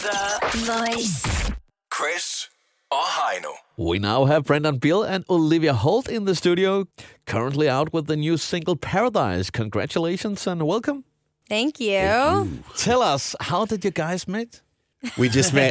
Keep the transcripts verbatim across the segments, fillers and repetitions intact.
The Voice. Chris og Heino. We now have Brendan Beal and Olivia Holt in the studio, currently out with the new single Paradise. Congratulations and welcome. Thank you. Tell us, how did you guys meet? We just met.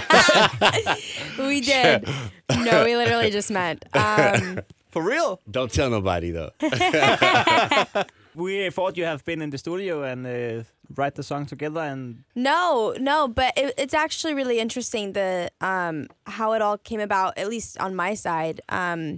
We did. No, we literally just met. Um, For real? Don't tell nobody, though. We thought you have been in the studio and uh, write the song together, and no, no, but it, it's actually really interesting the um, how it all came about. At least on my side, um,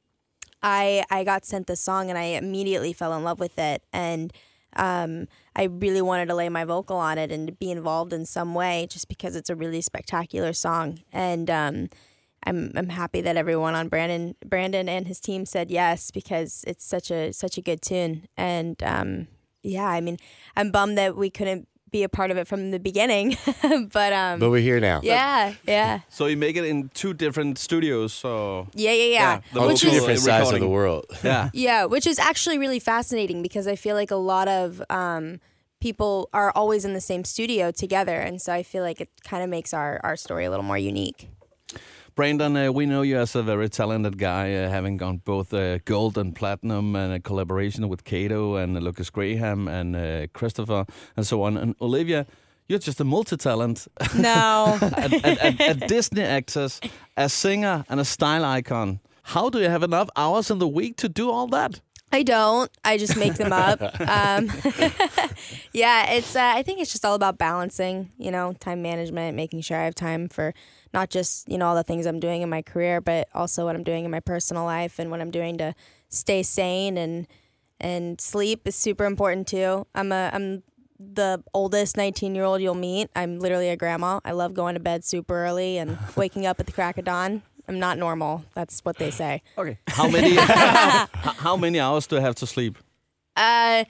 I I got sent the song and I immediately fell in love with it, and um, I really wanted to lay my vocal on it and be involved in some way, just because it's a really spectacular song. And um, I'm I'm happy that everyone on Brandon Brandon and his team said yes, because it's such a such a good tune. And um, yeah, I mean, I'm bummed that we couldn't be a part of it from the beginning, but um, But we're here now. yeah, yeah, So you make it in two different studios, so yeah, yeah, yeah. the On Which two is different sides of recording. the world. yeah. Yeah, which is actually really fascinating, because I feel like a lot of um, people are always in the same studio together, and so I feel like it kind of makes our, our story a little more unique. Brandon, uh, we know you as a very talented guy, uh, having gone both uh, gold and platinum, and a collaboration with Kato and uh, Lucas Graham and uh, Christopher and so on. And Olivia, you're just a multi-talent, No. a, a, a, a Disney actress, a singer, and a style icon. How do you have enough hours in the week to do all that? I don't. I just make them up. Um, yeah, it's. Uh, I think it's just all about balancing, you know, time management, making sure I have time for not just, you know, all the things I'm doing in my career, but also what I'm doing in my personal life and what I'm doing to stay sane, and and sleep is super important too. I'm a I'm the oldest nineteen year old you'll meet. I'm literally a grandma. I love going to bed super early and waking up at the crack of dawn. I'm not normal. That's what they say. okay. How many h- how many hours do you have to sleep? Uh,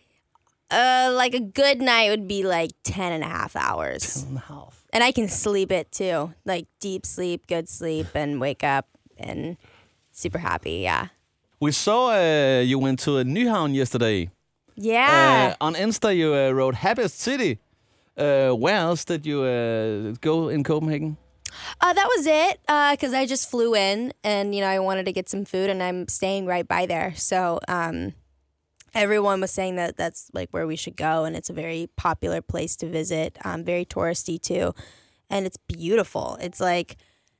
uh, like a good night would be like ten and a half hours. And a half. And I can sleep it too. Like deep sleep, good sleep, and wake up and super happy. Yeah. We saw uh, you went to Nyhavn yesterday. Yeah. Uh, on Insta, you uh, wrote Happiest City. Uh, where else did you uh, go in Copenhagen? Uh, that was it. Uh, cause I just flew in and, you know, I wanted to get some food, and I'm staying right by there. So, um, everyone was saying that that's like where we should go, and it's a very popular place to visit. Um, very touristy too. And it's beautiful. It's like,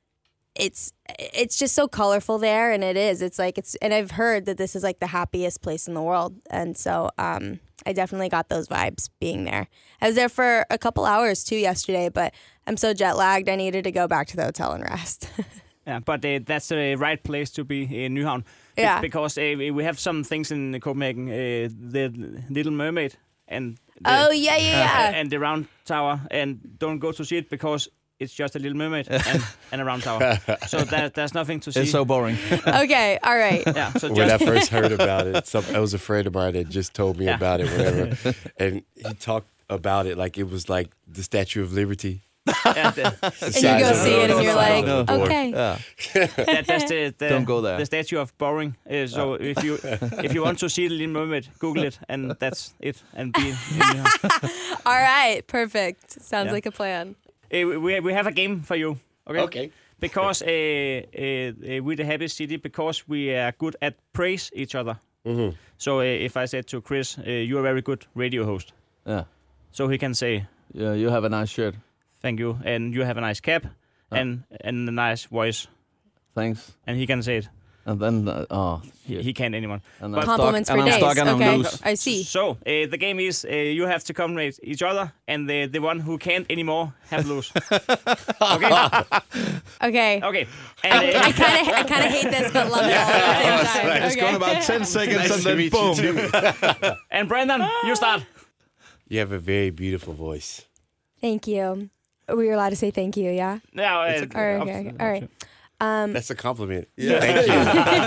it's, it's just so colorful there. And it is, it's like, it's, and I've heard that this is like the happiest place in the world. And so, um, I definitely got those vibes being there. I was there for a couple hours too yesterday, but I'm so jet lagged, I needed to go back to the hotel and rest. Yeah, but uh, that's the right place to be in Nyhavn. Be- Yeah. Because uh, we have some things in Copenhagen, uh, the Little Mermaid and the, Oh, yeah, yeah, yeah. and the Round Tower, and don't go to see it because it's just a Little Mermaid and, and a Round Tower. So that, there's nothing to see. It's so boring. Okay, all right. yeah, so When I just first heard about it, some, I was a friend of mine that just told me Yeah. about it, whatever. And he talked about it like it was like the Statue of Liberty. yeah, the, And you go see it and you're like, No. okay. Yeah. that, that's the, the Don't go there. The statue of boring. Uh, so if you if you want to see the Little Mermaid, Google it, and that's it. And be in Nyhavn. All right, perfect. Sounds Yeah. like a plan. Uh, we we have a game for you. Okay. Okay. Because uh, uh, uh, we're the happy city because we are good at praise each other. Mm-hmm. So uh, if I said to Chris, uh, you're a very good radio host, Yeah. so he can say Yeah, you have a nice shirt. thank you, and you have a nice cap, Ah. and and a nice voice, Thanks. and he can say it. And then, uh, oh, He, shit. he can't anyone. And I'm Compliments stuck, for and I'm days. stuck and I'm Okay, loose. I see. So uh, the game is uh, you have to accommodate each other, and the the one who can't anymore have lose. Okay. Okay. Okay. And, uh, I kind of I kind of hate this, but love it all at the same time. It's Okay. gone about ten seconds Nice and to then meet boom. you too. and Brandon, you start. You have a very beautiful voice. Thank you. We were allowed to say thank you, yeah? Now, uh, All right, okay, okay. All right. Um, That's a compliment. Yeah. Thank you.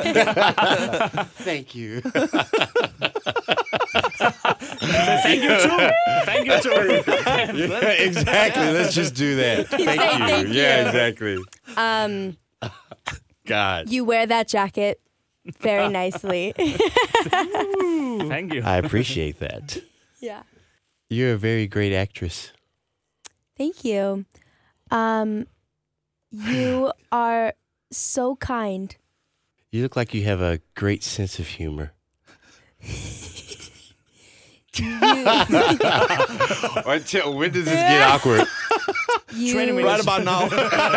Thank you. Thank you too. Thank you too. Yeah, exactly. Let's just do that. Thank say you. thank Yeah, you. exactly. um, God. you wear that jacket very nicely. Thank you. I appreciate that. Yeah. You're a very great actress. Thank you. Um, you are so kind. You look like you have a great sense of humor. Until when does this get awkward? You, Right about now.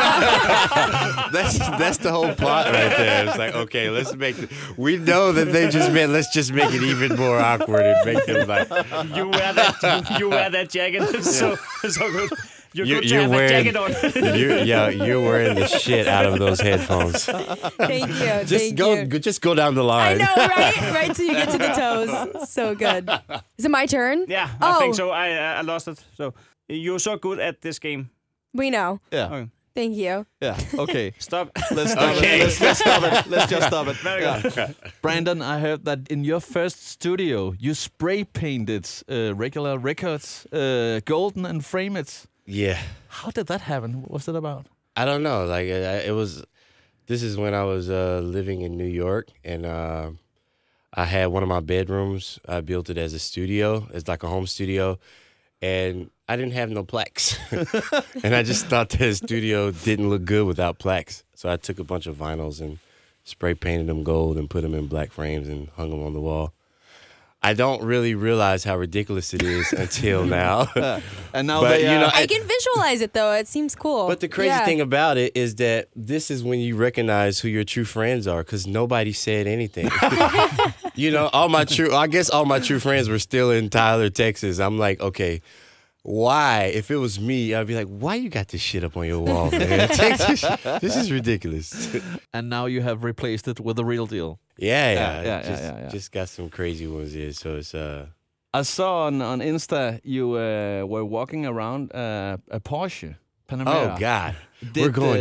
That's that's the whole plot right there. It's like, okay, let's make it. We know that they just meant let's just make it even more awkward and make them like You wear that. You wear that jacket. It's so so good. You're, You're- good you're to have wearing- a jacket on. you yeah, you're wearing the shit out of those headphones. Thank you. Just thank go you. go- just go down the I line. know, right? Right till you get to the toes. So good. Is it my turn? Yeah, Oh. I think so. I I lost it. So you're so good at this game. We know. Yeah. Okay. Thank you. Yeah. Okay. Stop. Let's stop Okay. it. Let's, let's stop it. Let's just stop it. Very good. Brandon, I heard that in your first studio, you spray painted uh, regular records uh, golden and frame it. Yeah. How did that happen? What was it about? I don't know. Like I, it was. This is when I was uh, living in New York, and uh, I had one of my bedrooms. I built it as a studio. It's like a home studio, and I didn't have no plaques, and I just thought that studio didn't look good without plaques. So I took a bunch of vinyls and spray painted them gold and put them in black frames and hung them on the wall. I don't really realize how ridiculous it is until now. And now But, they, you uh, know, I can visualize it though. It seems cool. But the crazy Yeah. thing about it is that this is when you recognize who your true friends are, because nobody said anything. You know, all my true, I guess all my true friends were still in Tyler, Texas. I'm like, okay, why? If it was me, I'd be like, why you got this shit up on your wall, man? Texas, this is ridiculous. and now you have replaced it with the real deal. Yeah, yeah, Yeah, yeah, just, yeah, yeah, yeah. just got some crazy ones here. So it's uh, I saw on, on Insta you uh, were walking around uh, a Porsche Panamera. oh god, Did, we're going uh,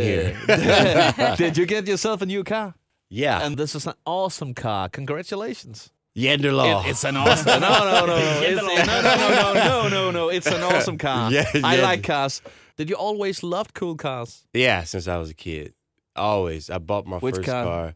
here. Did you get yourself a new car? Yeah, And this is an awesome car. Congratulations. Yenderlaw. It, it's an awesome. No, no, no. It's, no, no, no, no, no, no, no. It's an awesome car. Yeah, I yeah. like cars. Did you always love cool cars? Yeah, since I was a kid. Always. I bought my Which first car? car.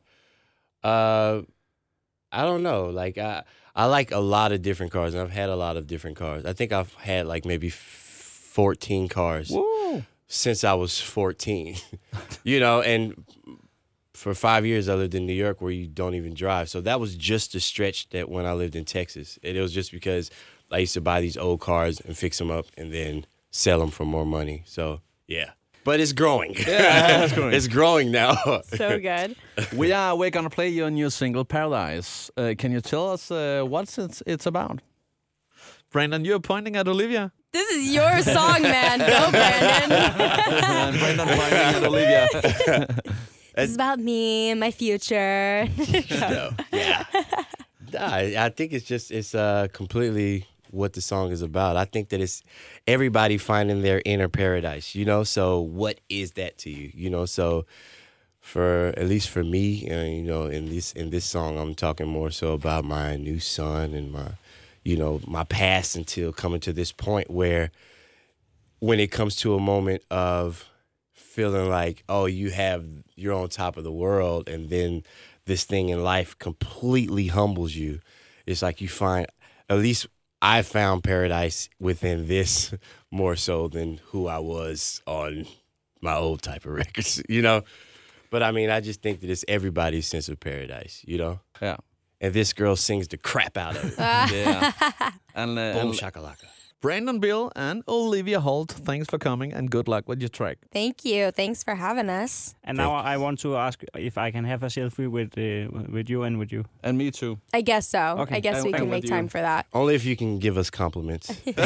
Uh I don't know. Like I I like a lot of different cars, and I've had a lot of different cars. I think I've had like maybe fourteen cars Woo. since I was fourteen. You know, and for five years I lived in New York where you don't even drive. So that was just a stretch that when I lived in Texas. And it was just because I used to buy these old cars and fix them up and then sell them for more money. So, yeah. But it's growing. Yeah, it's growing. It's growing now. So good. We are. We're gonna play your new single, Paradise. Uh, can you tell us uh, what it's it's about? Brandon, you're pointing at Olivia. This is your song, man. Go, Brandon. And Brandon pointing at Olivia. This is about me and my future. No. Yeah. Nah, I I think it's just, it's uh, completely what the song is about. I think that it's everybody finding their inner paradise, you know? So what is that to you, you know? So for, at least for me, uh, you know, in this, in this song, I'm talking more so about my new son and my, you know, my past until coming to this point where when it comes to a moment of feeling like, oh, you have, you're on top of the world, and then this thing in life completely humbles you. It's like you find, at least I found paradise within this more so than who I was on my old type of records, you know? But I mean, I just think that it's everybody's sense of paradise, you know? Yeah. And this girl sings the crap out of it. Yeah. And, uh, Boom and shakalaka. Brandon Bill and Olivia Holt, thanks for coming and good luck with your track. Thank you. Thanks for having us. And now I want to ask if I can have a selfie with uh, with you and with you. and me too. I guess so. Okay. I guess And- we and can with make you. time for that. Only if you can give us compliments.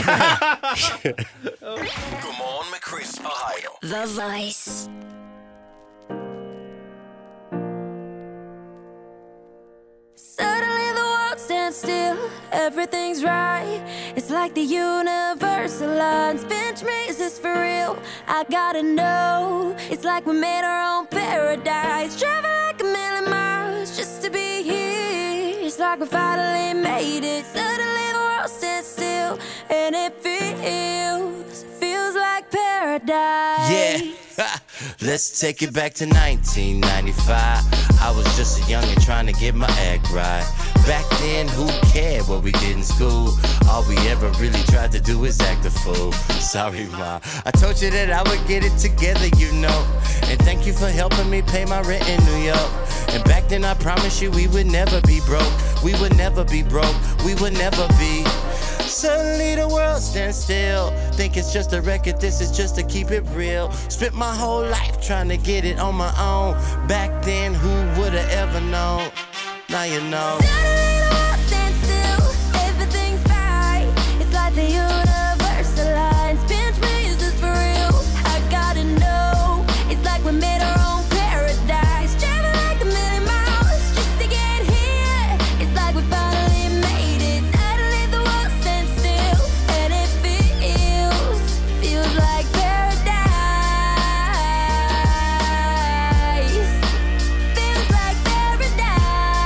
Godmorgen med Chris og Heino. The Voice. Suddenly the world stands still, everything's right. It's like the universe aligns. Bench me, is this for real? I gotta know. It's like we made our own paradise. Travel like a million miles just to be here. It's like we finally made it. Suddenly the world stands still, and it feels, feels like paradise. Yeah, let's take it back to nineteen ninety-five. I was just a youngin' trying to get my act right. Back then, who cared what we did in school? All we ever really tried to do is act a fool. Sorry, Ma. I told you that I would get it together, you know. And thank you for helping me pay my rent in New York. And back then I promised you we would never be broke. We would never be broke. We would never be. Suddenly the world stands still. Think it's just a record, this is just to keep it real. Spent my whole life trying to get it on my own. Back then, who would've ever known? Now you know. Suddenly the world stands still, everything's fine. It's like the universe aligns. Pinch me, is this for real? I gotta know. It's like we made our own paradise. Travel like a million miles just to get here. It's like we finally made it. Suddenly the world stands still, and it feels, feels like paradise. Feels like paradise.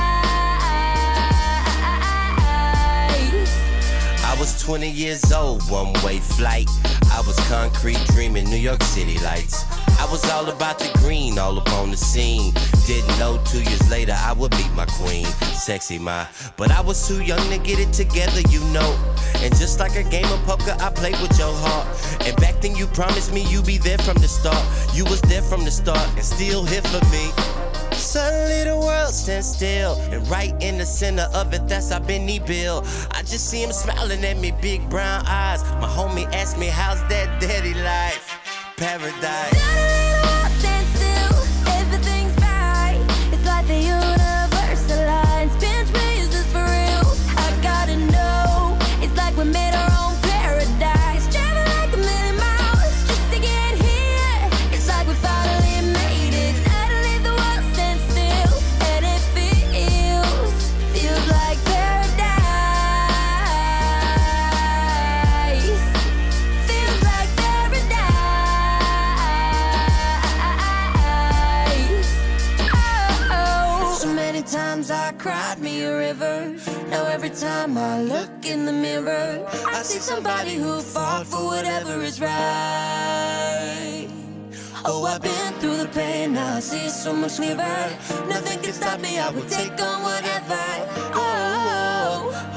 I was twenty years old, one-way flight. I was concrete dreaming, New York City lights. I was all about the green, all up on the scene. Didn't know two years later I would meet my queen, sexy ma. But I was too young to get it together, you know. And just like a game of poker, I played with your heart. And back then you promised me you'd be there from the start. You was there from the start and still here for me. Suddenly the world stands still, and right in the center of it, that's our Benny Bill. I just see him smiling at me, big brown eyes. My homie asked me, how's that daddy life? Paradise. Suddenly the world stands still, everything's fine. It's like the universe aligns. Pinch me, is this for real? I gotta know. It's like we made our own paradise. Travel like a million miles just to get here. It's like we finally made it. Suddenly the world stands still, and it feels, feels like paradise. Feels like paradise. Oh, so many times I cried me a river. Now every time I look in the mirror, I see somebody who fought for whatever is right. Oh, I've been through the pain, now I see it so much clearer. Nothing can stop me, I will take on whatever. Oh, oh,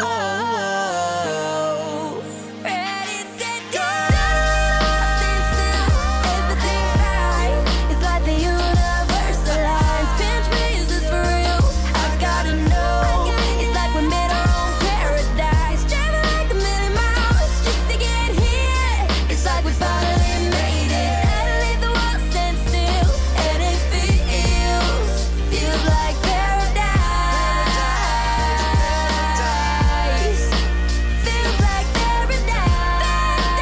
oh. Ready, set, go. Stand still, everything's fine. It's like the universe aligns. Pinch me, is this for real? I gotta know. It's like we made our own paradise. Travel like a million miles just to get here. It's like we finally made it. Suddenly the world stands still, and it feels, feels like paradise. Feels like paradise.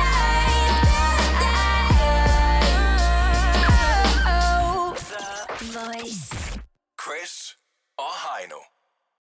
Paradise. Chris og Heino.